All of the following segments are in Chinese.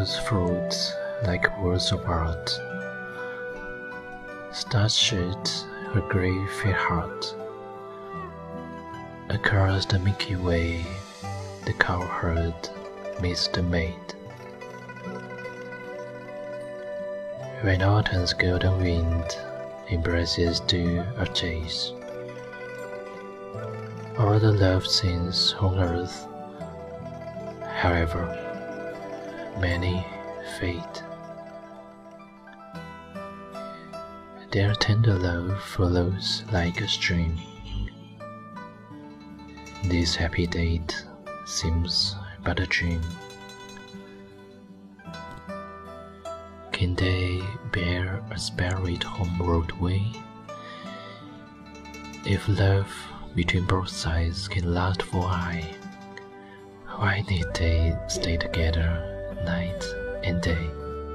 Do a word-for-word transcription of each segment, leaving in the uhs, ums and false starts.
those fruits like words of art, stars-shaped her grey fair heart. Across the Milky Way, the cowherd meets the maid. When autumn's golden wind embraces dew or chase, all the love scenes on earth, however many fade, their tender love follows like a stream. This happy date seems but a dream. Can they bear a spirit homeward way? If love between both sides can last for aye, why need they stay together night and day?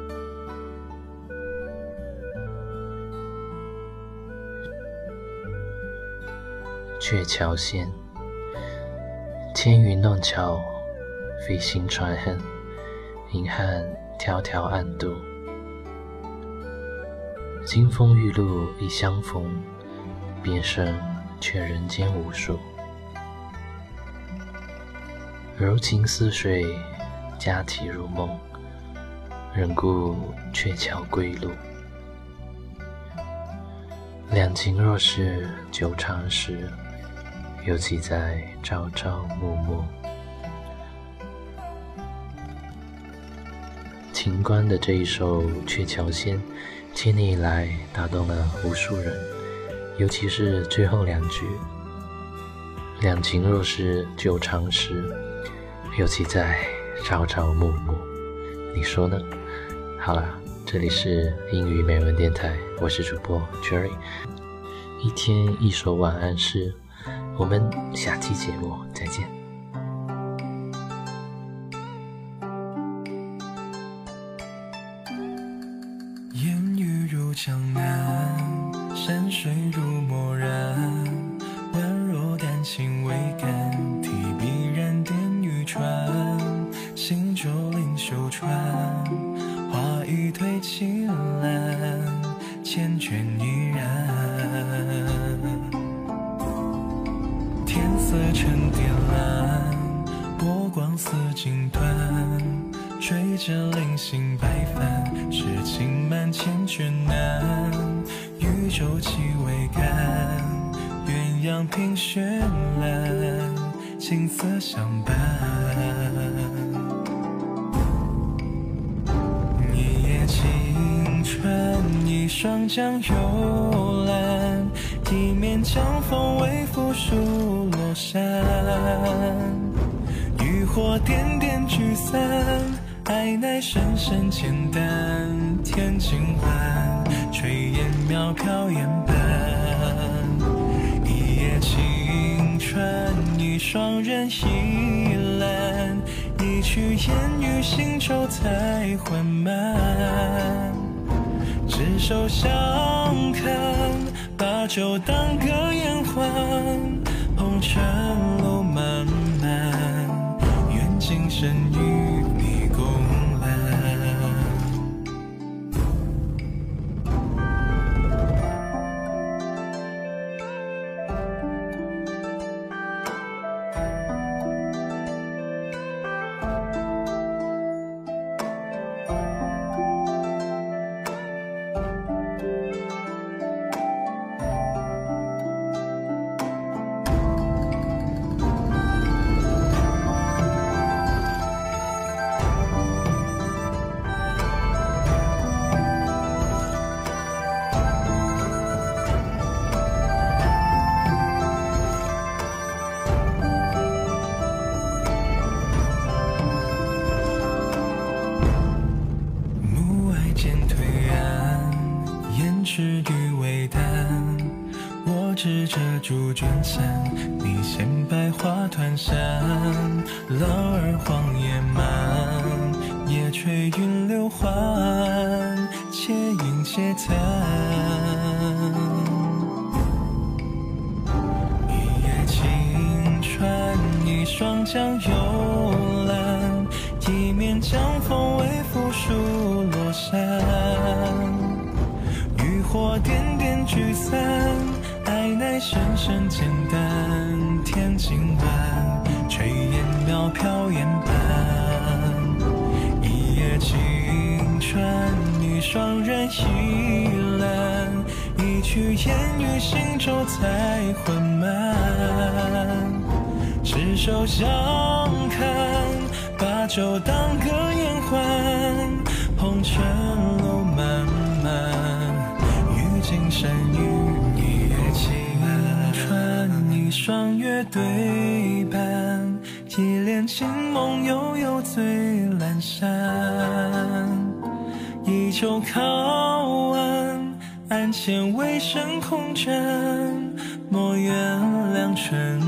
鹊桥仙，千云弄巧，飞行船恨，银汉迢迢暗度。金风玉露一相逢，便胜却人间无数。柔情似水，佳体如梦，人顾鹊桥归路。两情若是久长时，又岂在朝朝暮暮。秦观的这一首《鹊桥仙》，千年以来打动了无数人，尤其是最后两句：两情若是久长时，又岂在朝朝暮暮。你说呢？好啦，这里是英语美文电台，我是主播 Jerry， 一天一首晚安诗，我们下期节目再见。 烟雨如江南，山水如墨然，宛若丹青未干，提笔燃点玉船，行舟临秀川，画一推青蓝，缱绻依然。天色沉靛蓝，波光似锦缎，追着零星白帆，诗情满千卷难，渔舟气未干，鸳鸯凭绚烂，景色相伴。一夜晴川，一双江幽蓝，一面江风微拂疏落山，渔火点点聚散，爱乃深深浅淡，天尽欢，炊烟渺飘烟斑。一夜晴川，一双人倚栏，一曲烟雨行舟才缓慢。执手相看，把酒当歌言欢，红尘路漫漫，愿今生与你共揽。诗与微淡，我执着竹卷伞，你衔百花团扇。浪儿黄叶漫，夜吹云流缓，且饮且叹。一夜晴川，一双江幽蓝，一面江风微拂古树落山，渔火点点聚散，爱乃深深简单。天尽晚，炊烟渺飘烟斑，一夜青春，一双人倚栏，一曲烟雨行舟才缓慢。执手相看，把酒当歌言欢，红尘路漫漫，与今生与你也情穿一双月对半，一帘清梦悠悠醉阑珊，依旧靠岸，案前微声空枕，莫怨良辰